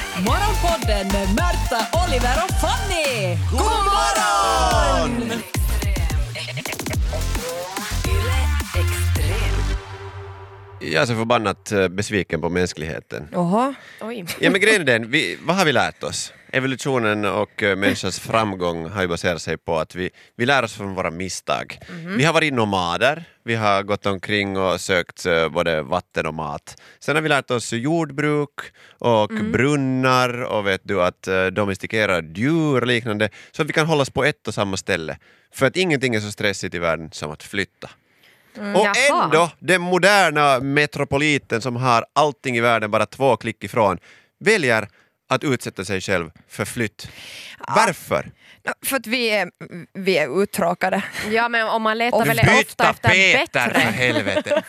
Morgonpodden med Märta, Oliver och Fanny. God morgon! Jag är så förbannat besviken på mänskligheten. Oha. Oj. Ja, men grejen är den, vad har vi lärt oss? Evolutionen och människans framgång har ju baserat sig på att vi lär oss från våra misstag. Vi har varit nomader, vi har gått omkring och sökt både vatten och mat. Sen har vi lärt oss jordbruk och brunnar och vet du att domestikera djur och liknande så att vi kan hållas på ett och samma ställe. För att ingenting är så stressigt i världen som att flytta. Och ändå, den moderna metropoliten som har allting i världen bara 2 klick ifrån väljer att utsätta sig själv för flytt. Varför? För att vi är uttråkade. Ja, men om man letar väl byta ofta efter Peter bättre. för helvete.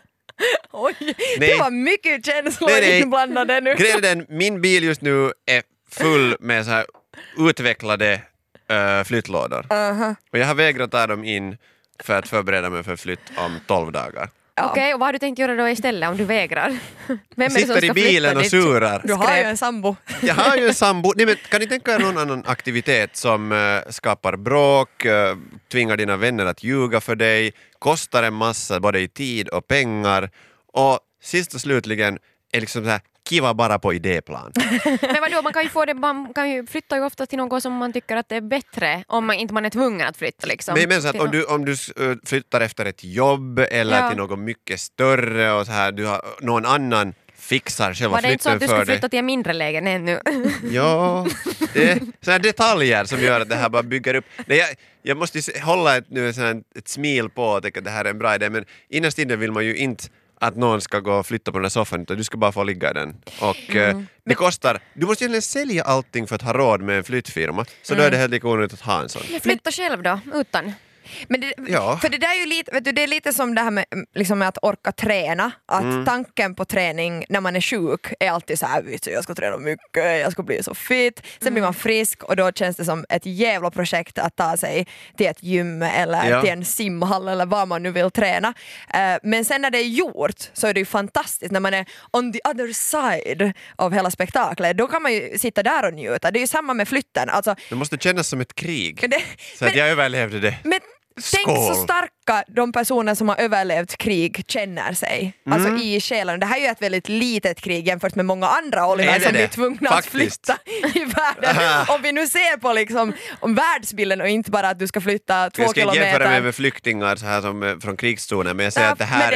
Oj, Nej. det var mycket känslor Nej. inblandade nu. Grejen är den, min bil just nu är full med så här utvecklade flyttlådor. Och jag har vägrat ta dem in för att förbereda mig för flytt om 12 dagar. Okej, och vad har du tänkt göra då istället om du vägrar? Vem är det som Sitter i ska bilen och flytta ditt surar. Du har ju en sambo. Jag har ju en sambo. Nej, men kan ni tänka er någon annan aktivitet som skapar bråk, tvingar dina vänner att ljuga för dig, kostar en massa både i tid och pengar och sist och slutligen är liksom så här kiva bara på idéplan. Men vadå, man kan ju flytta ju ofta till något som man tycker att det är bättre om man inte är tvungen att flytta liksom. Men så att om du flyttar efter ett jobb eller till något mycket större och så här, du har någon annan fixar själva var det inte så flytten att du för skulle dig. flytta till en mindre lägenhet nu? Ja, det är sådana detaljer som gör att det här bara bygger upp. Nej, jag måste hålla ett smil på och tänka att det här är en bra idé, men innerst inne vill man ju inte att någon ska gå och flytta på den här soffan utan du ska bara få ligga i den. Och det kostar, du måste egentligen sälja allting för att ha råd med en flyttfirma, så då är det helt lika onödigt att ha en sån. Men flytta själv då, utan? Men för det där är ju lite, vet du, det är lite som det här med, liksom med att orka träna. Att tanken på träning när man är sjuk är alltid så här, jag ska träna mycket, jag ska bli så fit. Sen blir man frisk och då känns det som ett jävla projekt att ta sig till ett gym eller till en simhall eller vad man nu vill träna. Men sen när det är gjort så är det ju fantastiskt när man är on the other side av hela spektaklet. Då kan man ju sitta där och njuta. Det är ju samma med flytten. Alltså, Det måste kännas som ett krig. Så att jag överlevde det. Men tänk så starka de personer som har överlevt krig känner sig. Alltså i själen. Det här är ju ett väldigt litet krig jämfört med många andra Oliver som blir tvungna att flytta i världen. Om vi nu ser på liksom, om världsbilden och inte bara att du ska flytta 2 kilometer. Jag ska jämföra mig med flyktingar så här som från krigszonen, men jag säger att det här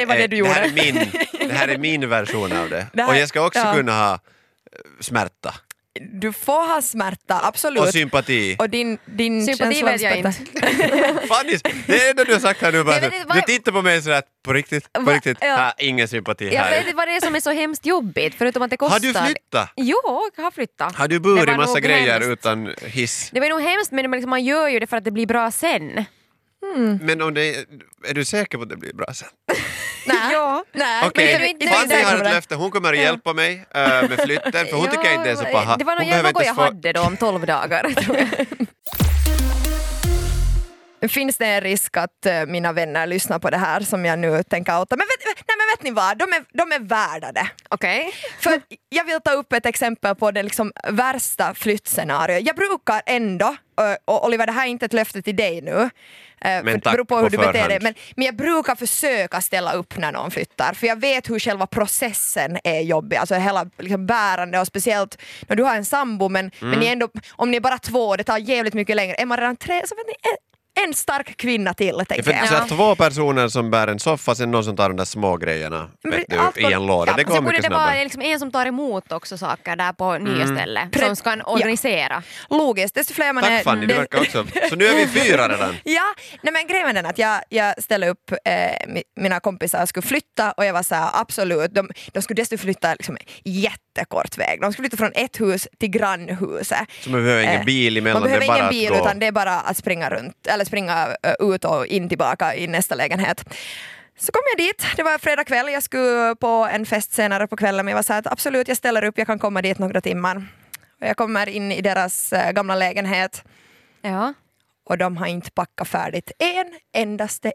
är min version av det. Och jag ska också kunna ha smärta. Du får ha smärta, absolut. Och sympati. Och din sympati vet jag inte. Fanny, det är det du har sagt här nu. Du tittar på mig sådär, på riktigt. Ingen sympati här. Jag vet inte vad det är som är så hemskt jobbigt, förutom att det kostar. Har du flyttat? Jo, jag har flyttat. Har du burit massa grejer hemskt. Utan hiss? Det var nog hemskt, men liksom, man gör ju det för att det blir bra sen. Men om är du säker på att det blir bra sen? Nej. Okej, Fanny har ett löfte. Hon kommer att hjälpa mig med flytten, för hon tycker jag inte är så paha. Det var något jag hade då om 12 dagar, tror jag. Finns det en risk att mina vänner lyssnar på det här som jag nu tänker outa? Men vet ni vad? De är värda det. Okej. För jag vill ta upp ett exempel på det liksom värsta flyttscenariot. Jag brukar ändå, och Oliver, det här är inte ett löfte till dig nu, men det beror på hur du förhand. beter dig, men jag brukar försöka ställa upp när någon flyttar, för jag vet hur själva processen är jobbig, alltså hela liksom bärande, och speciellt när du har en sambo, men ni ändå, om ni är bara 2, det tar jävligt mycket längre. Är man redan 3 så vet ni, en stark kvinna till, tänker jag. För 2 personer som bär en soffa, sen någon som tar de där små grejerna i en låda. Det går mycket det snabbare. vara liksom en som tar emot också saker där på nya ställen, som ska organisera. Logiskt, desto fler man är... Tack Fanny, du verkar också. Så nu är vi 4 redan. Ja, nej, men grejen är den att jag ställde upp mina kompisar skulle flytta, och jag var så här, absolut, de skulle dessutom flytta liksom jättekort väg. De skulle flytta från ett hus till grannhuset. Så man behöver ingen bil emellan, man behöver det är bara ingen bil, att gå. utan det är bara att springa runt, eller springa ut och in tillbaka i nästa lägenhet. Så kom jag dit, det var fredag kväll, jag skulle på en fest senare på kvällen, men jag var så här att absolut, jag ställer upp, jag kan komma dit några timmar. Och jag kommer in i deras gamla lägenhet. Ja. Och de har inte packat färdigt endaste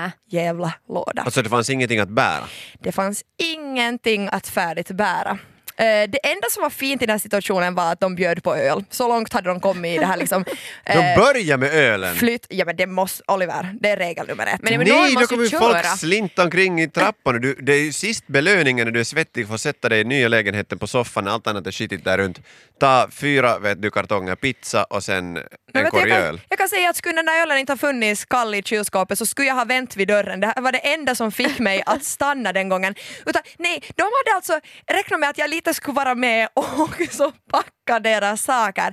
jävla låda. Alltså det fanns ingenting att bära. Det fanns ingenting att färdigt bära. Det enda som var fint i den här situationen var att de bjöd på öl. Så långt hade de kommit i det här liksom. De börjar med ölen. Ja men det måste, Oliver, det är regel nummer 1. Men Nej, måste då kommer ju köra. folk slinta omkring i trappan. Det är ju sist belöningen när du är svettig för att sätta dig i nya lägenheten på soffan. Allt annat är skitigt där runt. Ta 4 kartonger pizza och sen en korg öl. Jag kan säga att skulle den där ölen inte ha funnits kall i kylskåpet så skulle jag ha vänt vid dörren. Det var det enda som fick mig att stanna den gången. Utan, nej, de hade alltså räknat med att jag lite skulle vara med och så packa deras saker.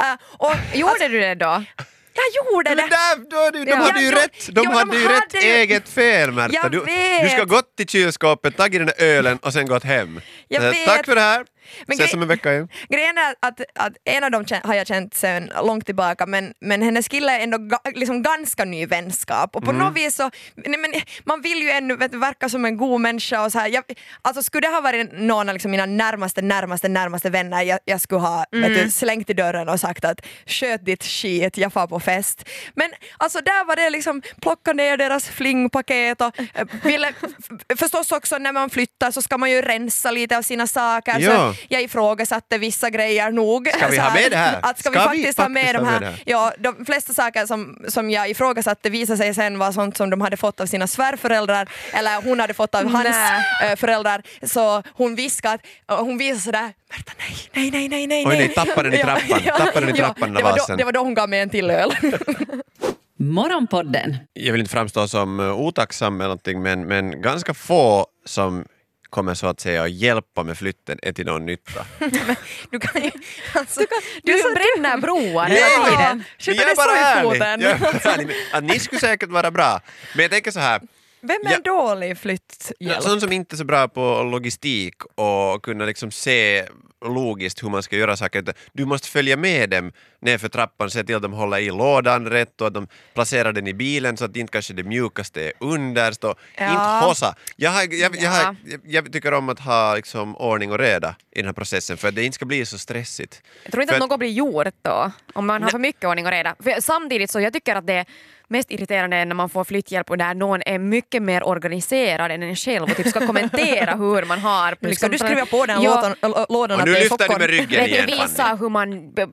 Gjorde du det då? Jag gjorde det. De hade ju rätt. De hade ju rätt eget fel, Märta. Du ska gått till kylskåpet, tagit den där ölen och sen gått hem. Tack för det här. Ses om en vecka igen. Grejen är att en av dem har jag känt sen långt tillbaka, men hennes kille är ändå liksom ganska ny vänskap och på något vis så man vill ju ännu verka som en god människa och så här. Alltså skulle det ha varit någon av liksom mina närmaste vänner jag skulle ha slängt i dörren och sagt att sköt ditt skit, jag far på fest. Men alltså där var det liksom plocka ner deras flingpaket och ville förstås också när man flyttar så ska man ju rensa lite av sina saker. Ja. Så jag ifrågasatte vissa grejer nog. Ska vi ha med det här? Att ska vi faktiskt ha med de här? Ja, de flesta saker som jag ifrågasatte visade sig sen var sånt som de hade fått av sina svärföräldrar eller hon hade fått av hans föräldrar. Så hon viskade och hon visade sådär Märta, nej. Oj nej, tappade den i trappan. Tappade den i trappan när vasen. Det var då hon gav mig en till öl. Morgonpodden. Jag vill inte framstå som otacksam eller någonting, men ganska få som kommer så att säga att hjälpa med flytten är till någon nytta. Du kan ju... Alltså, du bränner broar hela tiden. Jag är bara ärlig. Att ni skulle säkert vara bra. Men jag tänker så här. Vem är dålig flytthjälp? Sån som inte är så bra på logistik och kunna liksom se logiskt hur man ska göra saker. Du måste följa med dem ner för trappan, se till att de håller i lådan rätt och att de placerar den i bilen så att inte kanske det mjukaste är underst och inte hossa. Jag tycker om att ha liksom ordning och reda i den här processen för att det inte ska bli så stressigt. Jag tror inte att något blir gjort då om man har för mycket ordning och reda. För samtidigt så jag tycker att det är mest irriterande när man får flytthjälp och där någon är mycket mer organiserad än en själv och typ ska kommentera hur man har. Liksom, ska du skriva på den lådan? Och nu lyfter du med ryggen igen. Visa hur man,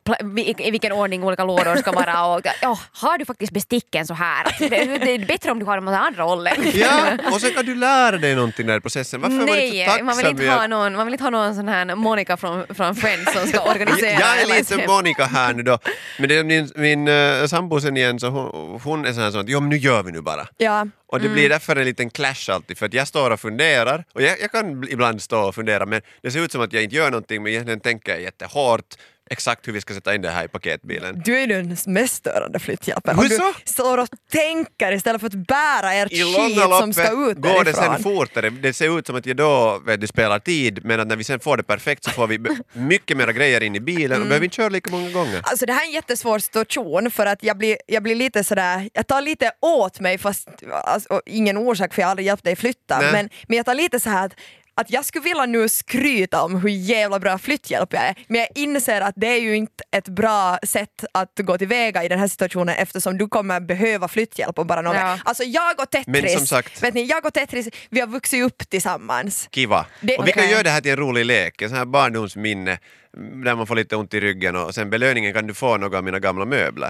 i vilken ordning olika lådor ska vara och har du faktiskt besticken så här? Det är bättre om du har dem åt andra hållet. Ja, och sen kan du lära dig någonting där i processen. Varför var det så tacksam? Man vill inte ha någon sån här Monica från Friends som ska organisera. Jag är lite Monica här nu då. Men det är min sambo sen igen så hon är sån här sånt, men nu gör vi nu bara. Ja. Och det blir därför en liten clash alltid, för att jag står och funderar, och jag kan ibland stå och fundera, men det ser ut som att jag inte gör någonting, men egentligen tänker jag jättehårt exakt hur vi ska sätta in det här i paketbilen. Du är den mest störande flytthjälpen. Hur så? Du står och tänker istället för att bära ert skit som ska ut därifrån. Går det sen fortare. Det ser ut som att jag då spelar tid, men att när vi sen får det perfekt så får vi mycket mera grejer in i bilen och behöver inte köra lika många gånger. Alltså det här är en jättesvår situation för att jag blir lite sådär, jag tar lite åt mig fast alltså, ingen orsak för jag har aldrig hjälpt dig flytta, men jag tar lite så här att jag skulle vilja nu skryta om hur jävla bra flytthjälp jag är, men jag inser att det är ju inte ett bra sätt att gå tillväga i den här situationen eftersom du kommer behöva flytthjälp och bara någon. Alltså jag och Tetris, men som sagt, vet ni, jag och Tetris, vi har vuxit upp tillsammans. Kiva. Och vi kan göra det här till en rolig lek, en sån här barndomsminne där man får lite ont i ryggen och sen belöningen kan du få några av mina gamla möbler.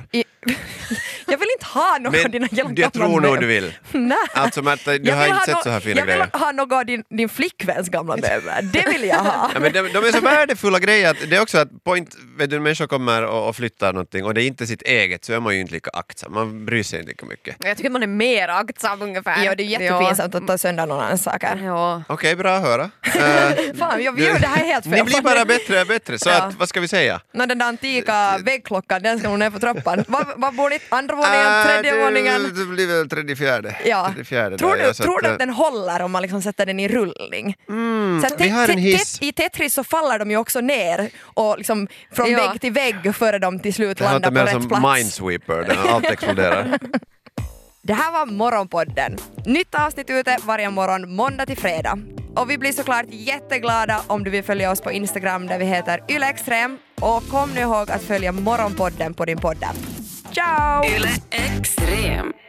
Jag vill inte ha några av dina gamla möbler. Jag tror nog du vill. Nej. Alltså Märta, du har inte sett så här fina grejer. Jag vill ha några av din flickväns gamla möbler. Det vill jag ha. Ja, men de är så värdefulla grejer att det är också att vet du, människor kommer och flyttar någonting och det är inte sitt eget så är man ju inte lika aktsam. Man bryr sig inte lika mycket. Jag tycker att man är mer aktsam ungefär. Ja, det är jättepinsamt att ta sönder någon annans saker. Ja. Okej, bra att höra. Fan, jag gör det här helt fel. Ni blir bara bättre och bättre. Så att, vad ska vi säga? Den där antika väggklockan, den ska nog ner på trappan. Vad bor ni? Andra våningen, tredje våningen? Det blir väl tredje, fjärde. Ja. Tror du att den håller om man liksom sätter den i rullning? Så vi har en hiss. I Tetris så faller de ju också ner och liksom från vägg till vägg före de till slut landar på rätt plats. Det låter mer som Minesweeper, där allt exploderar. Det här var Morgonpodden. Nytt avsnitt ute varje morgon, måndag till fredag. Och vi blir såklart jätteglada om du vill följa oss på Instagram där vi heter YleExtrem. Och kom nu ihåg att följa Morgonpodden på din podd. Ciao! YleExtrem.